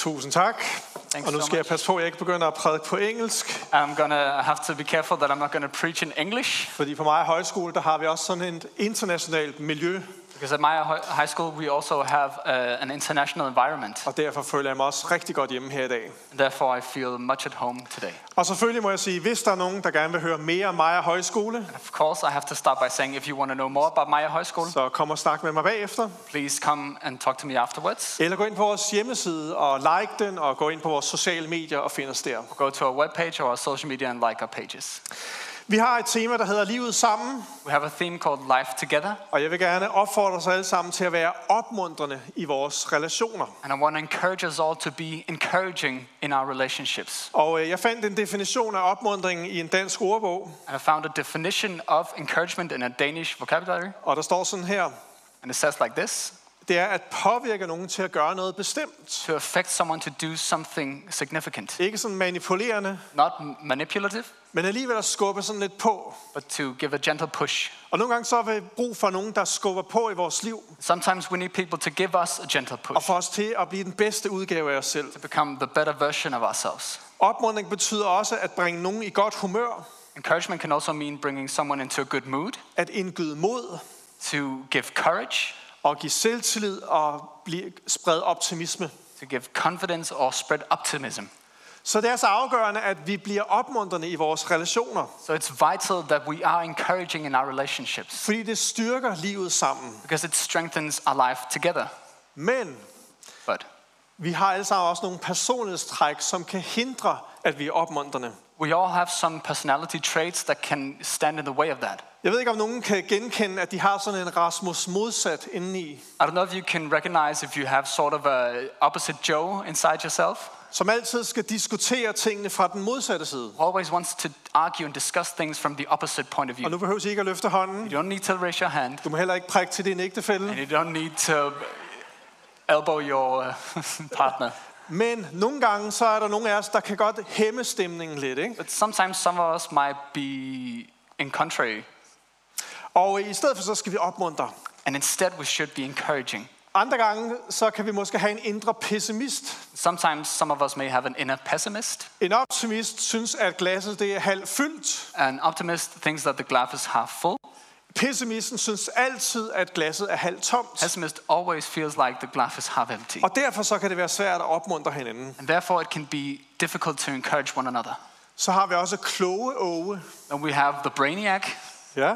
Tusind tak. Thanks Og nu so skal jeg much. passe på, at jeg ikke begynder at prædike på engelsk. I'm gonna have to be careful that I'm not gonna preach in English, Fordi på mig højskole, der har vi også sådan et internationalt miljø. because at my high school we also have an international environment. Og derfor føler jeg mig også rigtig godt hjemme her i dag. And therefore, I feel much at home today. Og selvfølgelig må jeg sige, hvis der er nogen, der gerne vil høre mere om Maja Højskole, Of course, I have to start by saying, if you want to know more about Maya High School, så kom og snak med mig bagefter. please come and talk to me afterwards. Eller gå ind på vores hjemmeside og like den, og gå ind på vores sociale medier og find os der. Go to our webpage or our social media and like our pages. Vi har et tema, der hedder Livet sammen. We have a theme called Life Together, Og jeg vil gerne opfordre os alle sammen til at være opmuntrende i vores relationer. and I want to encourage us all to be encouraging in our relationships. Og jeg fandt en definition af opmuntring i en dansk ordbog. And I found a definition of encouragement in a Danish vocabulary, Og der står sådan her. and it says like this: Det er at påvirke nogen til at gøre noget bestemt. to affect someone to do something significant. Ikke sådan manipulerende, Not manipulative, men alligevel at skubbe sådan lidt på. but to give a gentle push. Og nogle gange så har vi brug for nogen, der skubber på i vores liv. Sometimes we need people to give us a gentle Og push, få os til at blive den bedste udgave af os selv. to become the better version of ourselves. Opmuntring betyder også at bringe nogen i godt humør. Encouragement can also mean bringing someone into a good mood, At indgyde mod. to give courage, Og give selvtillid og sprede optimisme. to give confidence or spread optimism. Så det er så afgørende, at vi bliver opmuntrende i vores relationer. So it's vital that we are encouraging in our relationships, Fordi det styrker livet sammen. because it strengthens our life together. Men But vi har alle sammen også nogle personlighedstræk, som kan hindre, at vi er opmuntrende. we all have some personality traits that can stand in the way of that. Jeg ved ikke, om nogen kan genkende, at de har sådan en Rasmus modsat indeni. I don't know if you can recognize if you have sort of a opposite Joe inside yourself, Som altid skal diskutere tingene fra den modsatte side. who always wants to argue and discuss things from the opposite point of Og view. nu behøver I ikke at løfte hånden. You don't need to raise your hand, Du må heller ikke prikke til din ægtefælle. and you don't need to elbow your partner. Men nogle gange, så er der nogle af os, der kan godt hæmme stemningen lidt. Ikke? But sometimes some of us might be in contrary, Og i stedet for, så skal vi opmuntre. and instead we should be encouraging. Andre gange, så kan vi måske have en indre pessimist. Sometimes some of us may have an inner pessimist. En optimist synes, at glasset det er halvt fyldt. An optimist thinks that the glass is half full. Pessimisten synes altid, at glasset er halvt tomt. Pessimist always feels like the glass is half empty. Og derfor så kan det være svært at opmuntre hinanden. And therefore it can be difficult to encourage one another. Så har vi også kloge Åge. And we have the brainiac. Ja.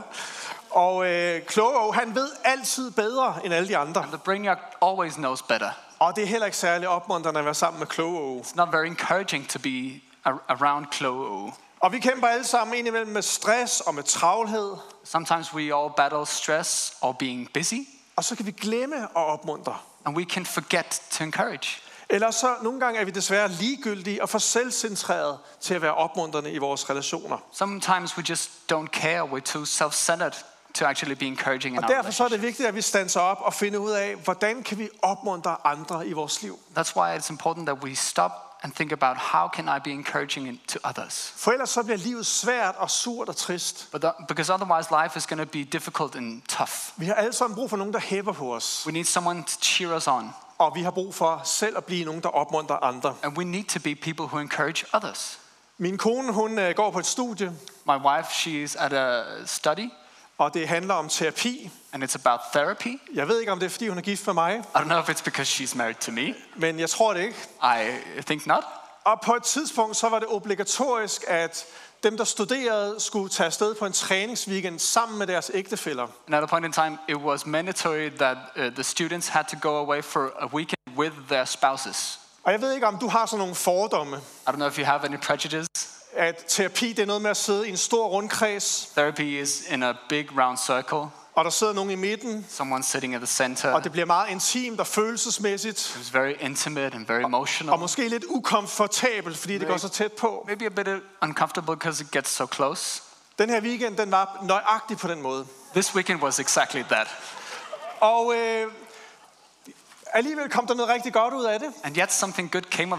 Og kloge Åge, han ved altid bedre end alle de andre. And the brainiac always knows better. Og det er heller ikke særlig opmuntrende at være sammen med kloge Åge. It's not very encouraging to be around Chloe. Og vi kæmper alle sammen indimellem med stress og med travlhed. Sometimes we all battle stress or being busy, Og så kan vi glemme at opmuntre. and we can forget to encourage. Eller så nogle gange er vi desværre ligegyldige og for selvcentreret til at være opmuntrende i vores relationer. Sometimes we just don't care. We're too self-centered to actually be encouraging in Og our derfor så er det relationship. vigtigt, at vi standser op og finder ud af, hvordan kan vi opmuntre andre i vores liv. That's why it's important that we stop and think about how can I be encouraging to others. For ellers så bliver livet svært og surt og trist. Because otherwise life is going to be difficult and tough. Vi har alle sammen brug for nogen, der hæpper på os. We need someone to cheer us on. Og vi har brug for selv at blive nogen, der opmuntrer andre. And we need to be people who encourage others. Min kone, hun går på et studie, My wife, she's at a study, og det handler om terapi. and it's about therapy. Jeg ved ikke, om det er, fordi hun er gift med mig, I don't know if it's because she's married to me. men jeg tror det ikke. I think not. Og på et tidspunkt, så var det obligatorisk, at dem, der studerede, skulle tage afsted på en træningsweekend sammen med deres ægtefæller. And at a point in time, it was mandatory that the students had to go away for a weekend with their spouses. Og jeg ved ikke, om du har sådan nogle fordomme, I don't know if you have any prejudice. at terapi det er noget med at sidde i en stor rundkreds, Therapy is in a big round circle. og der sidder nogen i midten, Someone sitting at the center. og det bliver meget intimt og følelsesmæssigt, It was very intimate and very emotional. og måske lidt ukomfortabelt, fordi det går så tæt på. Maybe a bit uncomfortable because it gets so close. Den her weekend, den var nøjagtig på den måde. This weekend was exactly that. Og alligevel kom der noget rigtig godt ud af det. And yet something good came of that.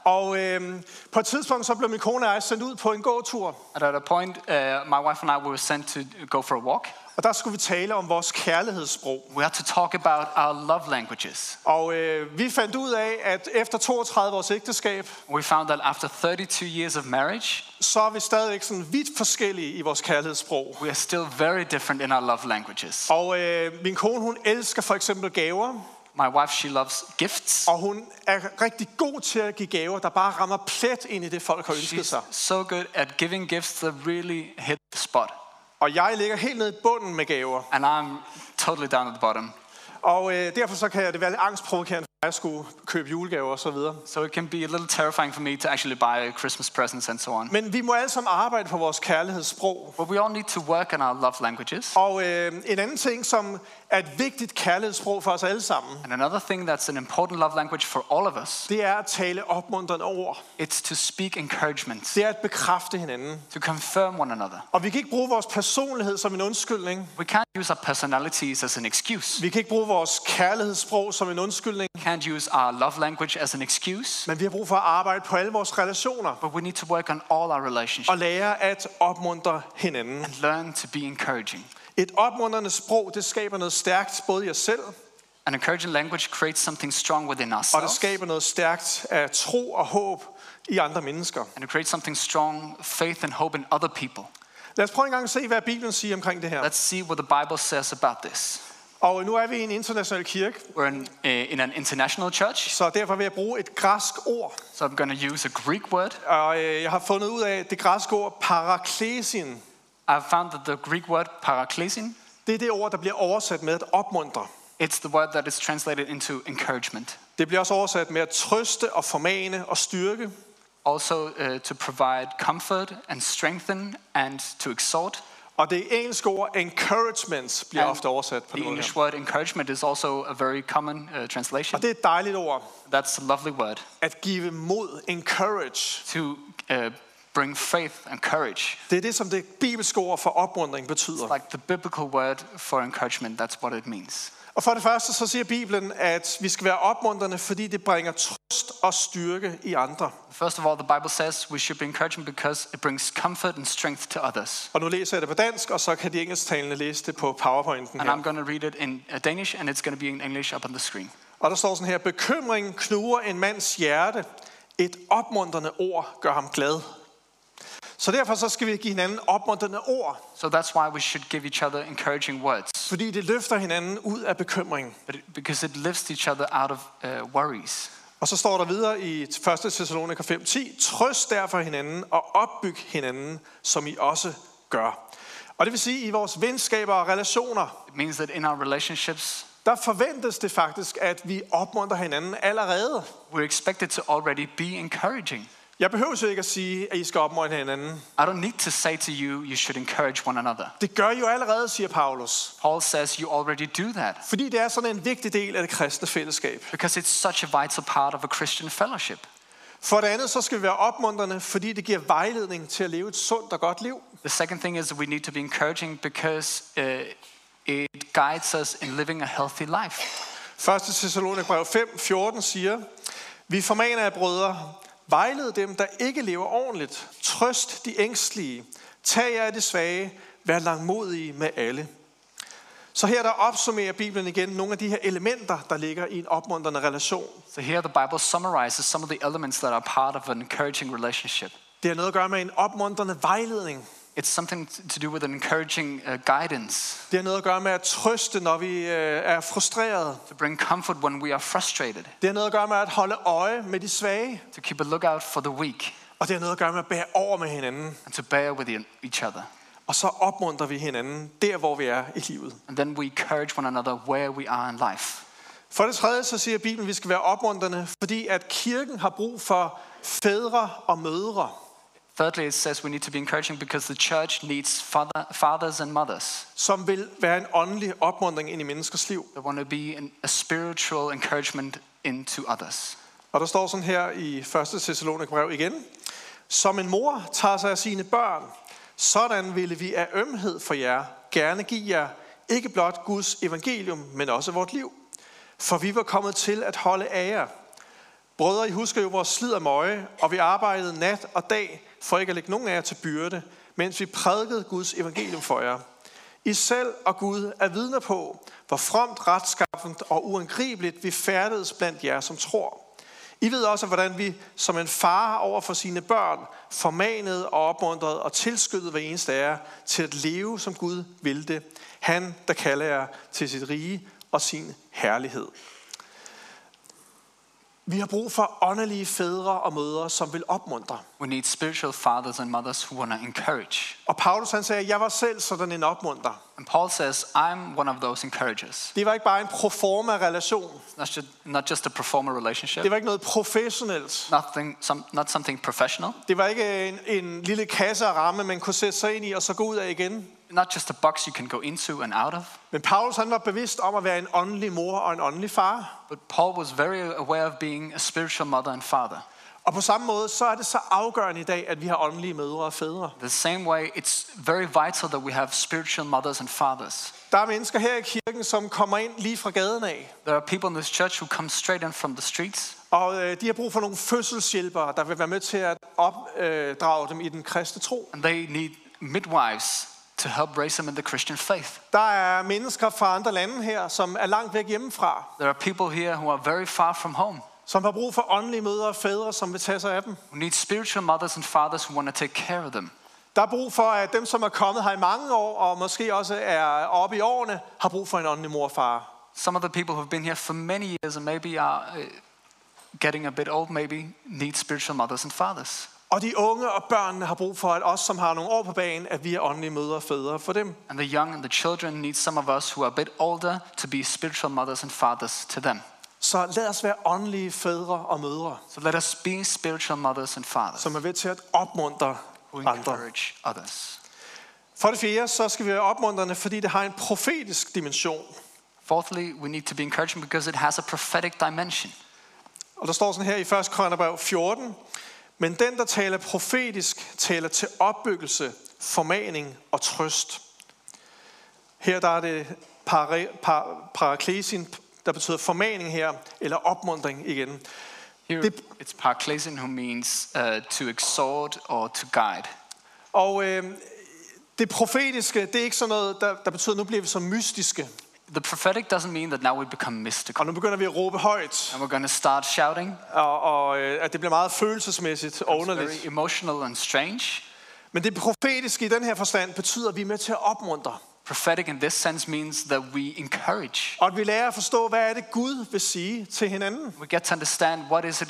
Og på et tidspunkt så blev min kone og jeg sendt ud på en gåtur. And at a point, my wife and I were sent to go for a walk. Og der skulle vi tale om vores kærlighedssprog. We had to talk about our love languages. Og vi fandt ud af, at efter 32 års ægteskab, We found that after 32 years of marriage, så er vi stadigvæk sådan vidt forskellige i vores kærlighedssprog. we are still very different in our love languages. Og min kone, hun elsker for eksempel gaver. My wife, she loves gifts. Og hun er rigtig god til at give gaver, der bare rammer plet ind i det, folk har ønsket She's sig. so good at giving gifts that really hit the spot. Og jeg ligger helt nede i bunden med gaver. And I'm totally down at the bottom. Og derfor så kan det være lidt angstprovokerende, at jeg skulle købe julegaver og så videre. So it can be a little terrifying for me to actually buy Christmas presents and so on. Men vi må alle sammen arbejde på vores kærlighedssprog. But we all need to work on our love languages. Og en anden ting, som er et vigtigt kærlighedssprog for os alle sammen, And another thing that's an important love language for all of us, det er at tale opmuntrende ord. it's to speak encouragement, Det er at bekræfte hinanden. to confirm one another. Og vi kan ikke bruge vores personlighed som en undskyldning. We can't use our personalities as an excuse. Vi kan ikke bruge vores kærlighedssprog som en undskyldning. We can't use our love language as an excuse. Men vi har brug for at arbejde på alle vores relationer. But we need to work on all our relationships Og lære at opmuntre hinanden. and learn to be encouraging. Et opmuntrende sprog, det skaber noget stærkt både i os selv, An encouraging language creates something strong within og det ourselves. skaber noget stærkt af tro og håb i andre mennesker. And it creates something strong, faith and hope in other people. Lad os prøve en gang at se, hvad Bibelen siger omkring det her. Let's see what the Bible says about this. Og nu er vi i en international kirke, We're in an international church, så derfor vil jeg bruge et græsk ord. so I'm going to use a Greek word. Og jeg har fundet ud af det græske ord paraklesin. I've found that the Greek word paraklesin, Det er det ord, der bliver oversat med at opmuntre. it's the word that is translated into encouragement. Det bliver også oversat med at trøste og formane og styrke. Also to provide comfort and strengthen and to exhort. Og det engelske ord encouragement bliver And ofte oversat på The den måde English her. word encouragement is also a very common translation. Og det er et dejligt ord. That's a lovely word. At give mod, encourage. To bring faith and courage. Det er det, som det bibelske ord for opmuntring betyder. Like the biblical word for encouragement, that's what it means. Og for det første så siger Bibelen, at vi skal være opmuntrende, fordi det bringer trøst og styrke i andre. First of all, the Bible says we should be encouraging because it brings comfort and strength to others. Og nu læser jeg det på dansk, og så kan de engelsktalende læse det på PowerPointen And I'm her. going to read it in Danish, and it's going to be in English up on the screen. Og der står sådan her: bekymring knuger en mands hjerte. Et opmuntrende ord gør ham glad. Så derfor så skal vi give hinanden opmuntrende ord, So that's why we should give each other encouraging words, fordi det løfter hinanden ud af bekymring. because it lifts each other out of worries. Og så står der videre i 1. Thessaloniker 5:10: trøst derfor hinanden og opbyg hinanden, som I også gør. Og det vil sige, i vores venskaber og relationer, It means that in our relationships, der forventes det faktisk, at vi opmuntrer hinanden allerede. we're expected to already be encouraging. Jeg behøver jo ikke at sige, at I skal opmuntre hinanden. I don't need to say to you, you should encourage one another. Det gør I jo allerede, siger Paulus. Paul says you already do that Fordi det er sådan en vigtig del af det kristne fællesskab. because it's such a vital part of a Christian fellowship. For det andet, så skal vi være opmuntrende, fordi det giver vejledning til at leve et sundt og godt liv. The second thing is we need to be encouraging because it guides us in living a healthy life. 1. Thessalonikerbrev 5:14 siger: vi formaner jer, brødre, vejled dem, der ikke lever ordentligt. Trøst de ængstlige. Tag jer af de svage. Vær langmodige med alle. Så her der opsummerer Bibelen igen nogle af de her elementer, der ligger i en opmuntrende relation. So here the Bible summarizes some of the elements that are part of an encouraging relationship. Det har noget at gøre med en opmuntrende vejledning. It's something to do with an encouraging guidance, Det har noget at gøre med at trøste, når vi er frustrerede. to bring comfort when we are frustrated, Det har noget at gøre med at holde øje med de svage. to keep a lookout for the weak, Og det har noget at gøre med at bære over med hinanden. and to bear with each other. Og så opmuntrer vi hinanden der, hvor vi er i livet. And then we encourage one another where we are in life. For det tredje, så siger Bibelen, at vi skal være opmuntrende, fordi at kirken har brug for fædre og mødre. Thirdly, it says we need to be encouraging because the church needs fathers and mothers. Som vil være en åndelig opmuntring ind i menneskers liv. They want to be a spiritual encouragement into others. Og der står sådan her i 1. Thessalonikerbrev igen: som en mor tager sig af sine børn, sådan ville vi af ømhed for jer gerne give jer ikke blot Guds evangelium, men også vort liv. For vi var kommet til at holde af jer. Brødre, I husker jo vores slid og møje, og vi arbejdede nat og dag, for ikke at lægge nogen af jer til byrde, mens vi prædikede Guds evangelium for jer. I selv og Gud er vidner på, hvor fromt, retskaffent og uangribeligt vi færdedes blandt jer, som tror. I ved også, hvordan vi som en far over for sine børn formanede og opmuntrede og tilskyndede hver eneste af jer til at leve, som Gud ville det. Han, der kalder jer til sit rige og sin herlighed. Vi har brug for åndelige fædre og mødre, som vil opmuntre. We need spiritual fathers and mothers who want to encourage. Og Paulus han sagde, jeg var selv sådan en opmuntrer. And Paul says, I'm one of those encouragers. Det var ikke bare en proforma relation. It's not just a performer relationship. Det var ikke noget professionelt. Not something professional. Det var ikke en lille kasse og ramme, man kunne sætte sig ind i og så gå ud af igen. Not just a box you can go into and out of. Men Paulus han var bevidst om at være en åndelig mor og en åndelig far. But Paul was very aware of being a spiritual mother and father. Og på samme måde, så er det så afgørende i dag, at vi har åndelige mødre og fædre. The same way, it's very vital that we have spiritual mothers and fathers. Der er mennesker her i kirken, som kommer ind lige fra gaden af. There are people in this church who come straight in from the streets. Og de har brug for nogle fødselshjælpere, der vil være med til at opdrage dem i den kristne tro. And they need midwives to help raise them in the Christian faith. Der er mennesker fra andre lande her, som er langt væk hjemmefra. There are people here who are very far from home. Som har brug for åndelige mødre og fædre, som vil tage sig af dem. We need spiritual mothers and fathers who want to take care of them. Der er brug for, at dem, som er kommet her i mange år, og måske også er oppe i årene, har brug for en åndelig mor og far. Some of the people who've been here for many years and maybe are getting a bit old, maybe need spiritual mothers and fathers. Og de unge og børnene har brug for, at os, som har nogle år på banen, at vi er åndelige mødre og fædre for dem. And the young and the children need some of us who are a bit older to be spiritual mothers and fathers to them. Så lad os være åndelige fædre og mødre, So let us be spiritual mothers and fathers som er ved til at opmuntre who andre. encourage others. For det fjerde, så skal vi være opmuntrende, fordi det har en profetisk dimension. Fourthly, we need to be encouraging because it has a prophetic dimension. Og der står sådan her i 1. Korintherbrev 14. Men den, der taler profetisk, taler til opbyggelse, formaning og trøst. Her der er det paraklesin, der betyder formaning her, eller opmuntring igen. Here it's paraklesin, who means to exhort or to guide. Og det profetiske, det er ikke sådan noget, der betyder, at nu bliver vi så mystiske. The prophetic doesn't mean that now we become mystical. Og nu begynder vi at råbe højt. And we're going to start shouting. Og at det bliver meget følelsesmæssigt og It's underligt. very emotional and strange. Men det profetiske i den her forstand betyder, at vi er med til at opmuntre. Prophetic in this sense means that we encourage. Og at vi lærer at forstå, hvad er det Gud vil sige til hinanden. We get to understand what is it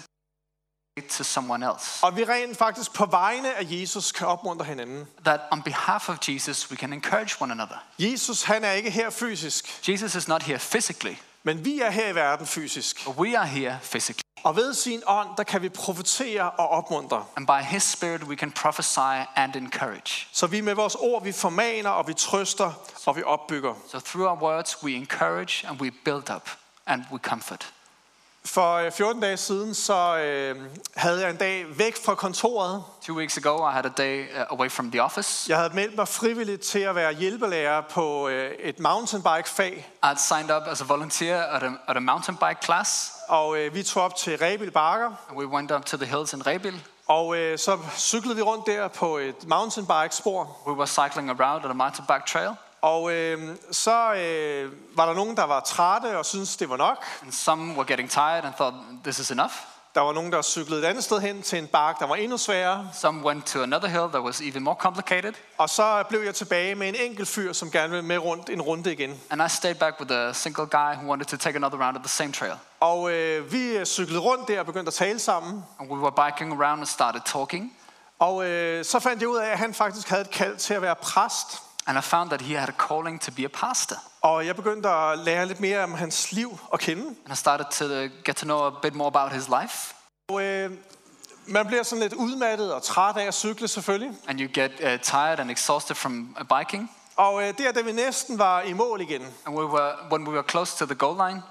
to someone else. Og vi rent faktisk på vegne af Jesus kan opmuntre hinanden. That on behalf of Jesus we can encourage one another. Jesus, han er ikke her fysisk, Jesus is not here physically, men vi er her i verden fysisk. but we are here physically. Og ved sin ånd, der kan vi profetere og opmuntre. And by his spirit we can prophesy and encourage. Så vi med vores ord, vi formaner og vi trøster og vi opbygger. So through our words we encourage and we build up and we comfort. For 14 dage siden, så havde jeg en dag væk fra kontoret. 2 weeks ago I had a day away from the office. Jeg havde meldt mig frivilligt til at være hjælpelærer på et mountainbike-fag. I had signed up as a volunteer at a mountain bike class. Og vi tog op til Rebild Bakker. And we went up to the hills in Rebild. Og så cyklede vi rundt der på et mountainbike-spor. We were cycling around at a mountain bike trail. Og så var der nogen, der var trætte og syntes, det var nok. And some were getting tired and thought this is enough. Der var nogen, der cyklede et andet sted hen til en bakke, der var endnu sværere. Some went to another hill that was even more complicated. Og så blev jeg tilbage med en enkelt fyr, som gerne ville med rundt en runde igen. And I stayed back with a single guy who wanted to take another round of the same trail. Og vi cyklede rundt der og begyndte at tale sammen. And we were biking around and started talking. Og så fandt jeg ud af, at han faktisk havde et kald til at være præst. And I found that he had a calling to be a pastor. Og jeg begyndte at lære lidt mere om hans liv at kende. And I started to get to know a bit more about his life. Og man bliver sådan lidt udmattet og træt af at cykle selvfølgelig. And you get tired and exhausted from biking. Og der, da vi næsten var i mål igen, And when we were close to the goal line,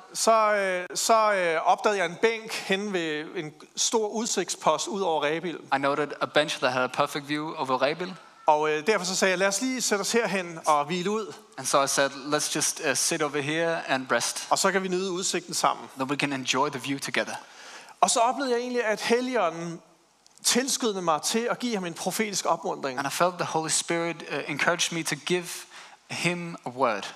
så opdagede jeg en bænk hen ved en stor udsigtspost ud over Rebild. I noted a bench that had a perfect view over Rebild. Og derfor så sagde jeg, lad os lige sætte os herhen og hvile ud. And so I said, let's just sit over here and rest. Og så kan vi nyde udsigten sammen. Then we can enjoy the view together. Og så oplevede jeg egentlig, at Helligånden tilskyndede mig til at give ham en profetisk opmuntring. And I felt the Holy Spirit encouraged me to give him a word.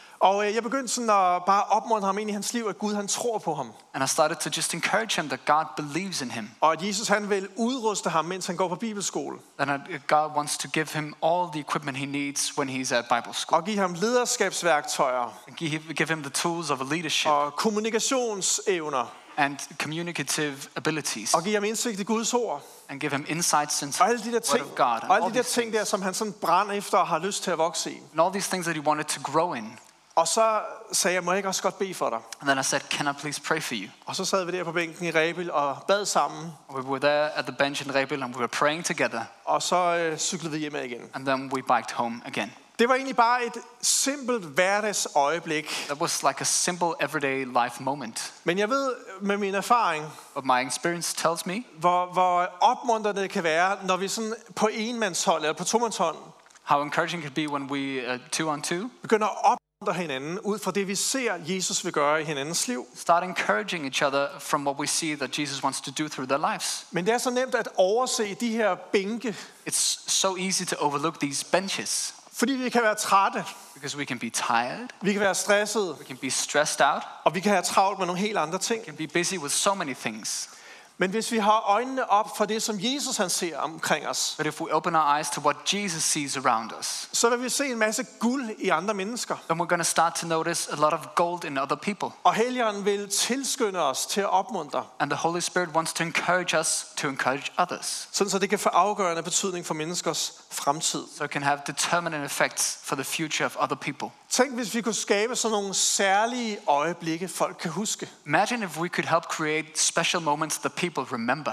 Og jeg begyndte sådan at bare opmuntre ham ind i hans liv, at Gud han tror på ham. And I started to just encourage him that God believes in him. Og at Jesus han vil udruste ham, mens han går på bibelskole. And God wants to give him all the equipment he needs when he's at Bible school. Og give ham lederskabsværktøjer. And give him the tools of a leadership. Og kommunikationsevner. And communicative abilities. Og give ham indsigt i Guds ord. And give him insights into Og alle de der the word ting, of God. og alle de der ting der, som han sådan brænder efter og har lyst til at vokse i. And all these things that he wanted to grow in. Og så sagde jeg, må jeg ikke også godt bede for dig? And then I said, can I please pray for you? Og så sad vi der på bænken i Rebild og bad sammen. We were there at the bench in Rebild and we were praying together. Og så cyklede vi hjemme igen. And then we biked home again. Det var egentlig bare et simpelt hverdagsøjeblik. That was like a simple everyday life moment. Men jeg ved med min erfaring, But my experience tells me hvor opmuntrende det kan være, når vi sådan på enmandshold eller på tomandshånd how encouraging it can be when we two on two begynder at opmuntre hinanden ud fra det, vi ser, Jesus vil gøre i hinandens liv. start encouraging each other from what we see that Jesus wants to do through their lives. Men det er så nemt at overse de her bænke, It's so easy to overlook these benches fordi vi kan være trætte, because we can be tired, vi kan være stressede, we can be stressed out, og vi kan have travlt med nogle helt andre ting. we can be busy with so many things. Men hvis vi har øjnene op for det, som Jesus han ser omkring os, But if we open our eyes to what Jesus sees around us, så vil vi se en masse guld i andre mennesker. then we're going to start to notice a lot of gold in other people. Og Helligånden vil tilskynde os til at opmuntre, And the Holy Spirit wants to encourage us to encourage others. sådan så det kan få afgørende betydning for menneskers fremtid. So it can have determinant effects for the future of other people. Tænk, hvis vi kunne skabe sådan nogle særlige øjeblikke, folk kan huske. Imagine if we could help create special moments that people remember.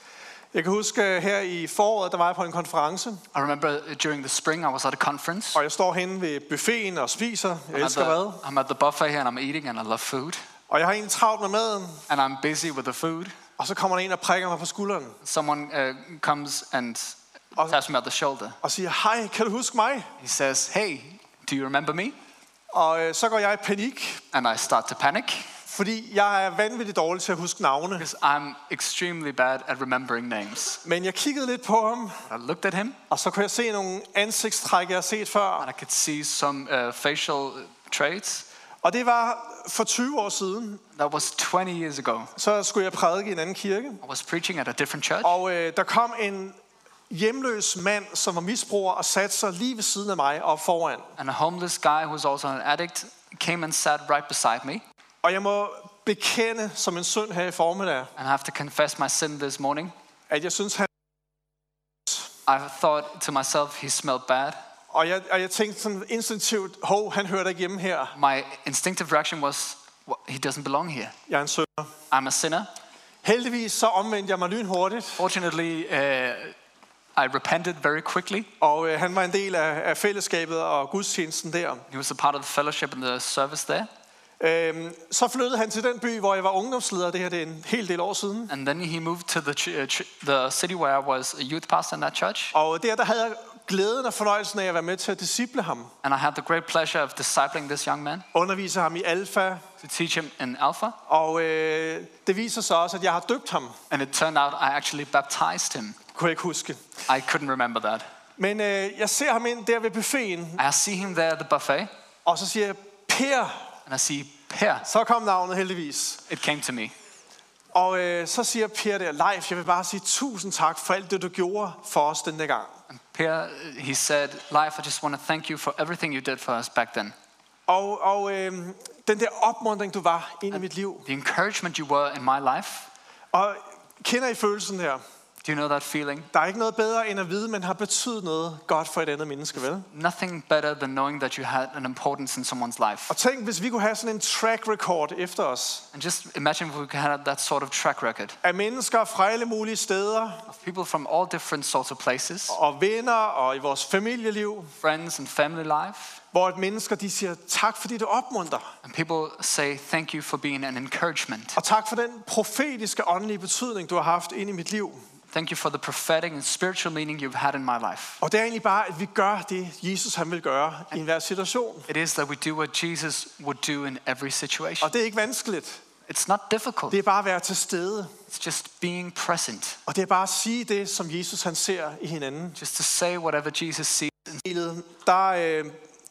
Jeg kan huske her i foråret, der var jeg på en konference, I remember during the spring I was at a conference. og jeg står henne ved buffeten og spiser. Jeg elsker mad. I'm at the buffet here and I'm eating and I love food. Og jeg har egentlig travlt med maden, And I'm busy with the food. og så kommer der en og prikker mig på skulderen Someone comes and taps me on the shoulder. og siger, hej, kan du huske mig? He says, hey, do you remember me? Og så går jeg i panik, And I start to panic fordi jeg er vanvittigt dårlig til at huske navne. because I'm extremely bad at remembering names. Men jeg kiggede lidt på ham, I looked at him og så kunne jeg se nogle ansigtstræk, jeg har set før. and I could see some facial traits. Og det var for 20 år siden. That was 20 years ago. Så skulle jeg prædike i en anden kirke. I was preaching at a different church. Og der kom en hjemløs mand, som var misbruger, og satte sig lige ved siden af mig op foran. And a homeless guy who was also an addict came and sat right beside me. Og jeg må bekende som en synd her i formiddag, And I have to confess my sin this morning. at jeg synes, han... I thought to myself, he smelled bad. Og jeg tænkte sådan instinktivt, han hører ikke hjemme her. My instinctive reaction was, he doesn't belong here. Jeg er en synder. I'm a sinner. Heldigvis så omvendte jeg mig lynhurtigt, Fortunately, I repented very quickly. og han var en del af fællesskabet og gudstjenesten der. He was a part of the fellowship and the service there. Så flyttede han til den by, hvor jeg var ungdomsleder. Det her det er en hel del år siden. And then he moved to the city where I was a youth pastor in that church. Og der havde jeg glæden og fornøjelsen af at være med til at disciple ham. And I had the great pleasure of discipling this young man, Undervise ham i alfa. to teach him in Alpha. Og det viser sig også, at jeg har døbt ham. And it turned out I actually baptized him. Kunne jeg ikke huske. I couldn't remember that. Men jeg ser ham ind der ved buffeten, I see him there at the buffet, og så siger jeg, Per. and I see Per. Så kom navnet heldigvis. It came to me. Og så siger Per der, Leif, jeg vil bare sige tusind tak for alt det, du gjorde for os denne gang. And Per, he said, Life, I just want to thank you for everything you did for us back then. Og den der opmuntring, du var ind i mit liv. The encouragement you were in my life. Og kender I følelsen her? Do you know that feeling? Der er ikke noget bedre end at vide, at man har betydet noget godt for et andet menneske, vel? Nothing better than knowing that you had an importance in someone's life. Og tænk, hvis vi kunne have sådan en track record efter os. And just imagine if we could have that sort of track record Af mennesker fra alle mulige steder, of people from all different sorts of places, og venner, og i vores familieliv, friends and family life. hvor et mennesker, de siger, tak fordi du opmuntrer. And people say, thank you for being an encouragement. Og tak for den profetiske åndelige betydning, du har haft ind i mit liv. Thank you for the prophetic and spiritual meaning you've had in my life. Og det er egentlig bare, at vi gør det, Jesus han vil gøre i enhver situation. It is that we do what Jesus would do in every situation. Og det er ikke vanskeligt. It's not difficult. Det er bare at være til stede. It's just being present. Og det er bare at sige det, som Jesus han ser i hinanden. Just to say whatever Jesus sees. Der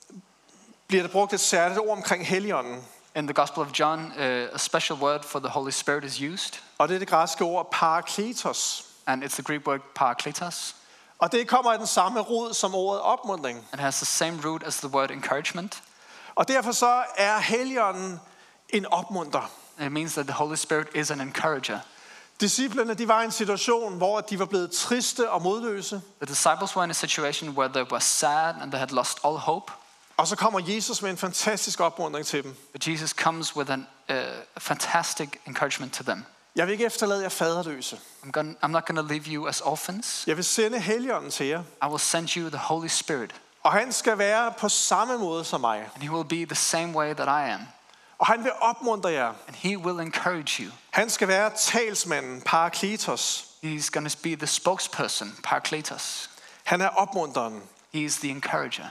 bliver der brugt et særligt ord omkring Helligånden. In the Gospel of John, a special word for the Holy Spirit is used. Og det er det græske ord parakletos. And it's the Greek word parakletos. Og det kommer af den samme rod som ordet opmuntring. It has the same root as the word encouragement. Og derfor så er Helligånden en opmunter. And it means that the Holy Spirit is an encourager. Disciplerne, de var i en situation, hvor de var blevet triste og modløse. The disciples were in a situation where they were sad and they had lost all hope. Og så kommer Jesus med en fantastisk opmuntring til dem. But Jesus comes with a fantastic encouragement to them. Jeg vil ikke efterlade jer faderløse. I'm not going to leave you as orphans. Jeg vil sende Helligånden til jer. I will send you the Holy Spirit. Og han skal være på samme måde som mig. And he will be the same way that I am. Og han vil opmuntre jer. And he will encourage you. Han skal være talsmanden, parakletos. He's going to be the spokesperson, parakletos. Han er opmuntreren. He's the encourager.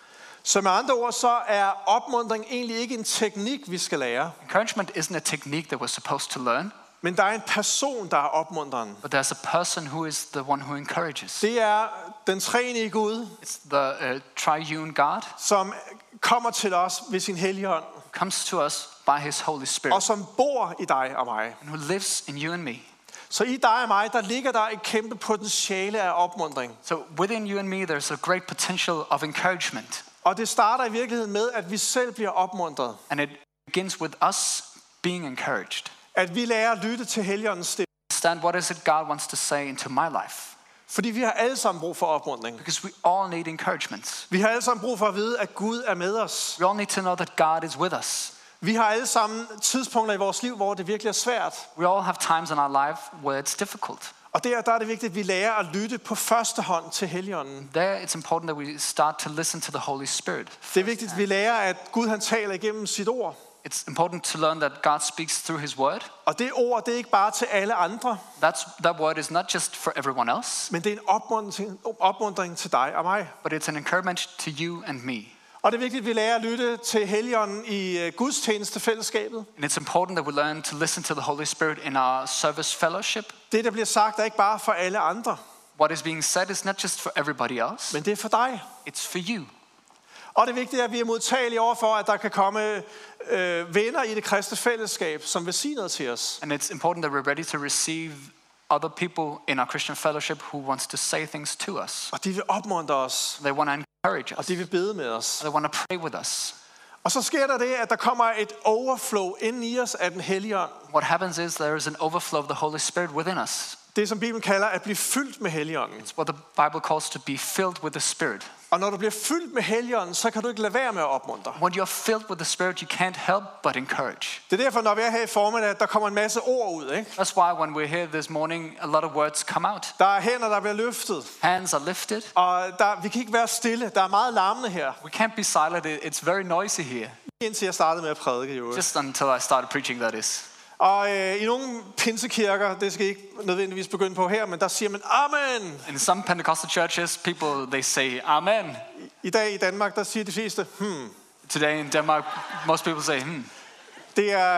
Så med andre ord, så er opmuntring egentlig ikke en teknik, vi skal lære. Encouragement isn't a technique that we're supposed to learn. Men der er en person, der er opmuntreren. But there's a person who is the one who encourages. Det er den treenige Gud, It's the triune God som kommer til os ved sin Helligånd. who comes to us by his Holy Spirit. Og som bor i dig og mig. And who lives in you and me. Så i dig og mig, der ligger der et kæmpe potentiale af opmuntring. So within you and me, there's a great potential of encouragement. Og det starter i virkeligheden med, at vi selv bliver opmuntret. And it begins with us being encouraged. At vi lærer at lytte til Helligåndens stemme. Understand what is it God wants to say into my life. Fordi vi har alle sammen brug for opmuntring. Because we all need encouragement. Vi har alle sammen brug for at vide, at Gud er med os. We all need to know that God is with us. Vi har alle sammen tidspunkter i vores liv, hvor det virkelig er svært. We all have times in our life where it's difficult. Og der er det vigtigt, at vi lærer at lytte på første hånd til Helligånden. There it's important that we start to listen to the Holy Spirit. Det er vigtigt, at vi lærer, at Gud han taler igennem sit ord. It's important to learn that God speaks through his word. Og det ord, det er ikke bare til alle andre, That word is not just for everyone else, men det er en opmuntring til dig og mig. but it's an encouragement to you and me. Og det er vigtigt, at vi lærer at lytte til Helligånden i gudstjenestefællesskabet. And it's important that we learn to listen to the Holy Spirit in our service fellowship. Det, der bliver sagt, er ikke bare for alle andre, What is being said is not just for everybody else, men det er for dig. it's for you. Og det er vigtigt, at vi er modtagelige overfor, at der kan komme venner i det kristne fællesskab, som vil sige noget til os. And it's important that we're ready to receive other people in our Christian fellowship who wants to say things to us. Og de vil opmuntre os, They want to encourage og us. de vil bede med os. They want to pray with us. Og så sker der det, at der kommer et overflow ind i os af den Hellige Ånd. What happens is there is an overflow of the Holy Spirit within us. Det, som Bibelen kalder at blive fyldt med Helligånden. It's what the Bible calls to be filled with the Spirit. Og når du bliver fyldt med Helligånden, så kan du ikke lade være med at opmuntre. When you're filled with the Spirit, you can't help but encourage. Det er derfor, når vi er her i formiddag, der kommer en masse ord ud, ikke? That's why when we're here this morning, a lot of words come out. Der er hænder, der bliver løftet. Hands are lifted. Og vi kan ikke være stille. Der er meget larmende her. We can't be silent. It's very noisy here. Indtil jeg startede med at prædike, jo. Just until I started preaching, that is. Og i nogle pinsekirker, det skal I ikke nødvendigvis begynde på her, men der siger man amen. In some Pentecostal churches, people, they say amen. I dag i Danmark, der siger de fleste, Today in Denmark, most people say, Det er,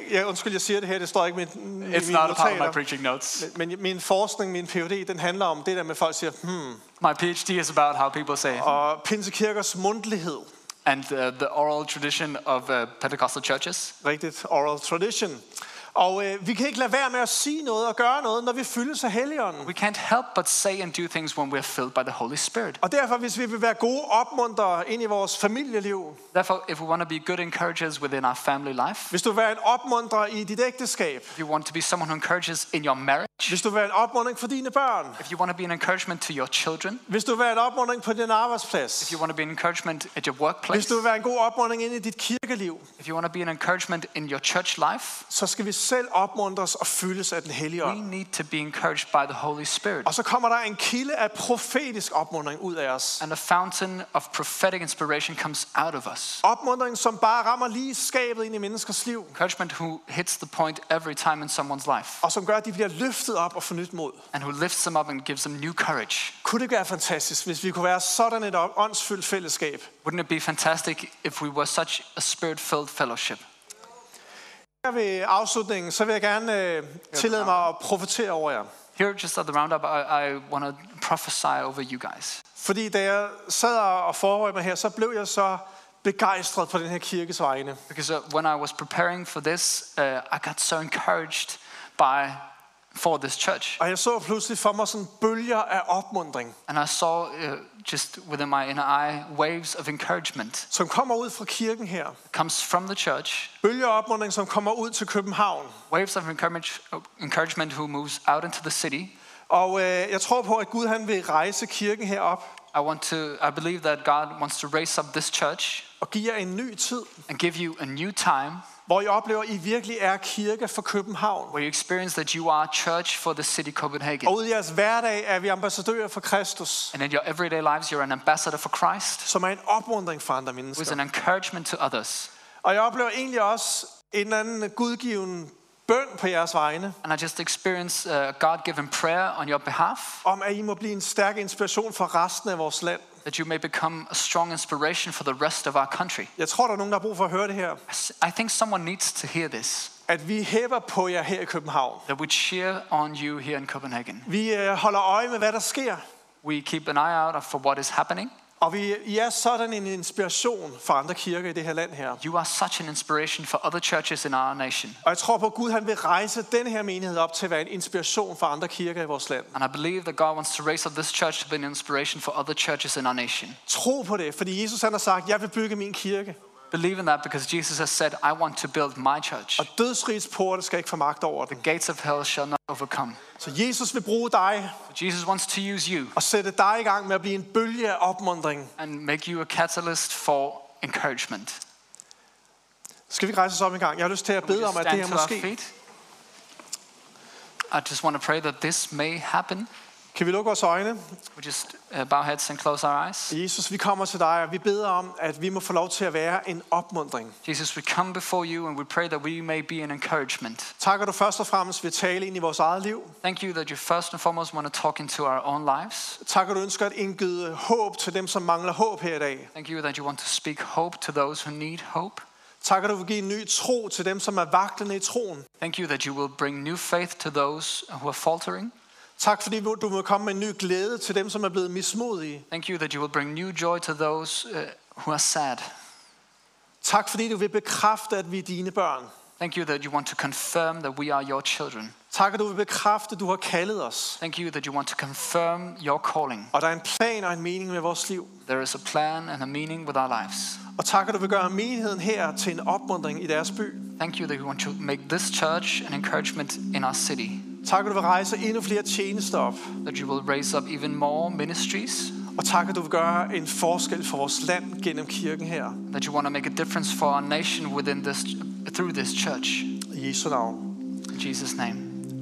jeg siger det her, det står ikke i mine It's not a part of my notater. preaching notes. Men min forskning, min Ph.D., den handler om det der med folk siger, My PhD is about how people say, og pinsekirkers mundtlighed. and the oral tradition of Pentecostal churches. Rigtigt, oral tradition. Og vi kan ikke lade være med at sige noget og gøre noget, når vi fyldes af Helligånden. We can't help but say and do things when we're filled by the Holy Spirit. Og derfor, hvis vi vil være gode opmuntrere ind i vores familieliv, Therefore, if we want to be good encouragers within our family life, hvis du vil være en opmuntrer i dit ægteskab, if you want to be someone who encourages in your marriage, hvis du vil være en opmuntring for dine børn, if you want to be an encouragement to your children, hvis du vil være en opmuntring på din arbejdsplads, if you want to be an encouragement at your hvis workplace, du vil være en god opmuntring ind i dit kirkeliv, if you want to be an encouragement in your church life, så skal vi selv opmuntres og fyldes af den Hellige we Ånd. need to be encouraged by the Holy Spirit. Og så kommer der en kilde af profetisk opmuntring ud af os. And a fountain of prophetic inspiration comes out of us. Opmuntring, som bare rammer lige skabet ind i menneskers liv, Encouragement who hits the point every time in someone's life, og som gør, at de bliver løftet op og får nyt mod. and who lifts them up and gives them new courage. Kunne det ikke være fantastisk, hvis vi kunne være sådan et åndsfyldt fællesskab? Wouldn't it be fantastic if we were such a spirit-filled fellowship? Her ved afslutningen, så vil jeg gerne tillade mig at profetere over jer. Here, just at the roundup, I want to prophesy over you guys. Fordi da jeg sad og forberedte mig her, så blev jeg så begejstret på den her kirkes vegne. Because when I was preparing for this, I got so encouraged for this church. Og jeg så pludselig for mig sådan bølger af opmuntring, And I saw just within my inner eye waves of encouragement. som kommer ud fra kirken her. It comes from the church. Bølger af opmuntring, som kommer ud til København. Waves of encouragement who moves out into the city. Og jeg tror på, at Gud han vil rejse kirken herop I believe that God wants to raise up this church og give jer en ny tid, and give you a new time hvor I oplever, at I virkelig er kirke for København. where you experience that you are a church for the city Copenhagen. Og ud i jeres hverdag er vi ambassadører for Kristus, And in your everyday lives, you're an ambassador for Christ, som er en opmuntring for andre who is mennesker. an encouragement to others. Og jeg oplever egentlig også en eller anden gudgiven bøn på jeres vegne, And I just experience God-given prayer on your behalf, om at I må blive en stærk inspiration for resten af vores land. that you may become a strong inspiration for the rest of our country. Jeg tror, der er nogen, der har brug for at høre det her. I think someone needs to hear this, At vi hæpper på jer her i København. that we cheer on you here in Copenhagen. Vi holder øje med, hvad der sker. We keep an eye out for what is happening. Og I er sådan en inspiration for andre kirker i det her land her. You are such an inspiration for other churches in our nation. Og jeg tror på, at Gud han vil rejse den her menighed op til at være en inspiration for andre kirker i vores land. And I believe that God wants to raise up this church to be an inspiration for other churches in our nation. Tro på det, fordi Jesus han har sagt, jeg vil bygge min kirke. Believe in that because Jesus has said, I want to build my church. Og dødsrigets porte skal ikke få magt over den. The gates of hell shall not overcome. Så Jesus vil bruge dig Jesus wants to use you og sætte dig i gang med at blive en bølge af opmuntring. and make you a catalyst for encouragement. Skal vi ikke rejse os op en gang? Jeg har lyst til at We bede just om, at det stand her to our måske... feet. I just want to pray that this may happen. Kan vi lukke vores øjne? We just bow heads and close our eyes. Jesus, vi kommer til dig, og vi beder om, at vi må få lov til at være en opmuntring. Jesus, we come before you and we pray that we may be an encouragement. Takker du først og fremmest ved tale ind i vores eget liv. Thank you that you first and foremost want to talk into our own lives. Takker du ønsker at indgyde håb til dem, som mangler håb her i dag. Thank you that you want to speak hope to those who need hope. Takker du vil give en ny tro til dem, som er vaklende i troen. Thank you that you will bring new faith to those who are faltering. Tak fordi du må komme med en ny glæde til dem, som er blevet mismodige. Thank you that you will bring new joy to those who are sad. Tak fordi du vil bekræfte, at vi er dine børn. Thank you that you want to confirm that we are your children. Tak at du vil bekræfte, at du har kaldet os. Thank you that you want to confirm your calling. Og der er en plan og en mening med vores liv. There is a plan and a meaning with our lives. Og tak at du vil gøre menigheden her til en opmuntring i deres by. Thank you that you want to make this church an encouragement in our city. Tak at du vil rejse endnu flere tjenester op. That you will raise up even more ministries. Og tak at du vil gøre en forskel for vores land gennem kirken her. That you want to make a difference for our nation through this church. I Jesu navn. In Jesus' name.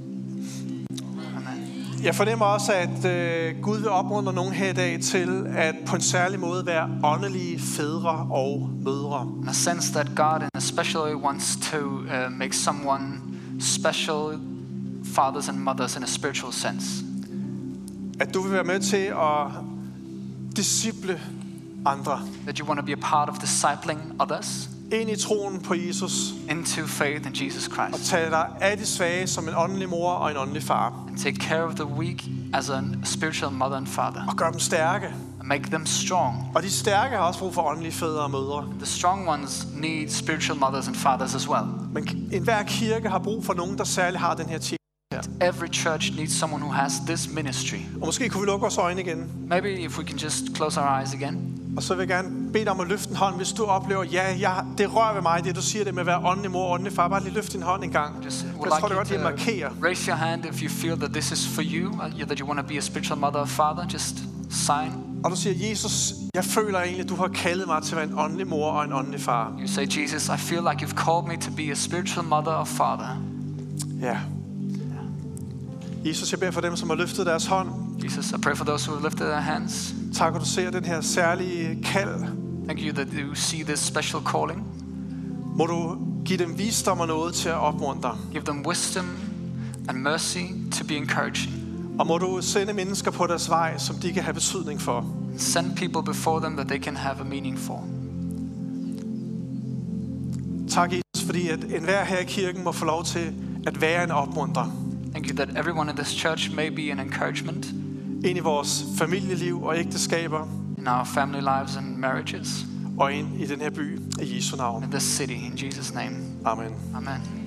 Amen. Jeg fornemmer også, at Gud vil opmuntre nogen her i dag til at på en særlig måde være åndelige fædre og mødre. And I sense that God in a special way wants to make someone special fathers and mothers in a spiritual sense. At du vil være med til at disciple andre That you want to be a part of discipling others ind i troen på Jesus into faith in Jesus og Christ. tage dig af de svage som en åndelig mor og en åndelig far And take care of the weak as a spiritual mother and father. og gøre dem stærke. And make them strong. Og de stærke har også brug for åndelige fædre og mødre. The strong ones need spiritual mothers and fathers as well. Men enhver kirke har brug for nogen, der særligt har den her tjeneste her. Every church needs someone who has this ministry. Og måske kunne vi lukke vores øjne igen. Maybe if we can just close our eyes again. Og så vil jeg gerne bede dig om at løfte en hånd, hvis du oplever, det rører ved mig, det du siger det med at være åndelig mor og åndelig far. Bare lige løft din hånd en gang. Just Jeg would tror, det er godt, like det you markerer. to raise your hand if you feel that this is for you, that you want to be a spiritual mother or father. Just sign. Og du siger, Jesus, jeg føler egentlig, at du har kaldet mig til at være en åndelig mor og en åndelig far. You say, Jesus, I feel like you've called me to be a spiritual mother or father. Ja. Jesus, jeg beder for dem, som har løftet deres hånd. Jesus, I pray for those who have lifted their hands. Tak, at du ser den her særlige kald. Thank you that you see this special calling. Må du give dem visdom og noget til at opmuntre. Give them wisdom and mercy to be encouraging. Og må du sende mennesker på deres vej, som de kan have betydning for. Send people before them that they can have a meaning for. Tak, Jesus, fordi at enhver her i kirken må få lov til at være en opmuntrer. Thank you that everyone in this church may be an encouragement Ind i vores familieliv og ægteskaber in our family lives and marriages, og ind i den her by i Jesu navn. in this city, in Jesus' name. Amen. Amen.